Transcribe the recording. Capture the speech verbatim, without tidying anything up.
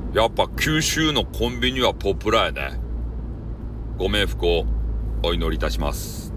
やっぱ九州のコンビニはポプラやね。ご冥福をお祈りいたします。